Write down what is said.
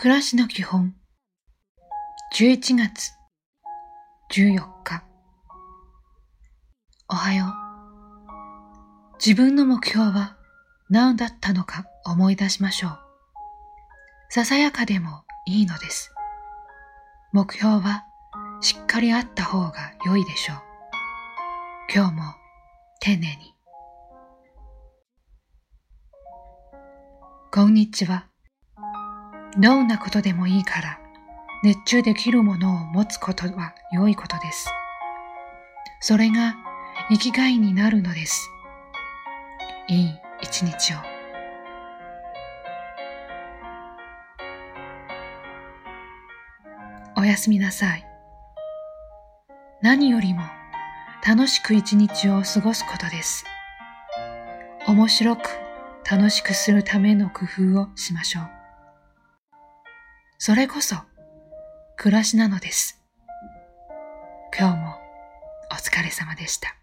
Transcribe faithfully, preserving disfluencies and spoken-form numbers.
暮らしの基本じゅういちがつじゅうよっか。おはよう。自分の目標は何だったのか思い出しましょう。ささやかでもいいのです。目標はしっかりあった方が良いでしょう。今日も丁寧に。こんにちは。どんなことでもいいから熱中できるものを持つことは良いことです。それが生きがいになるのです。いい一日を。おやすみなさい。何よりも楽しく一日を過ごすことです。面白く楽しくするための工夫をしましょう。それこそ暮らしなのです。今日もお疲れ様でした。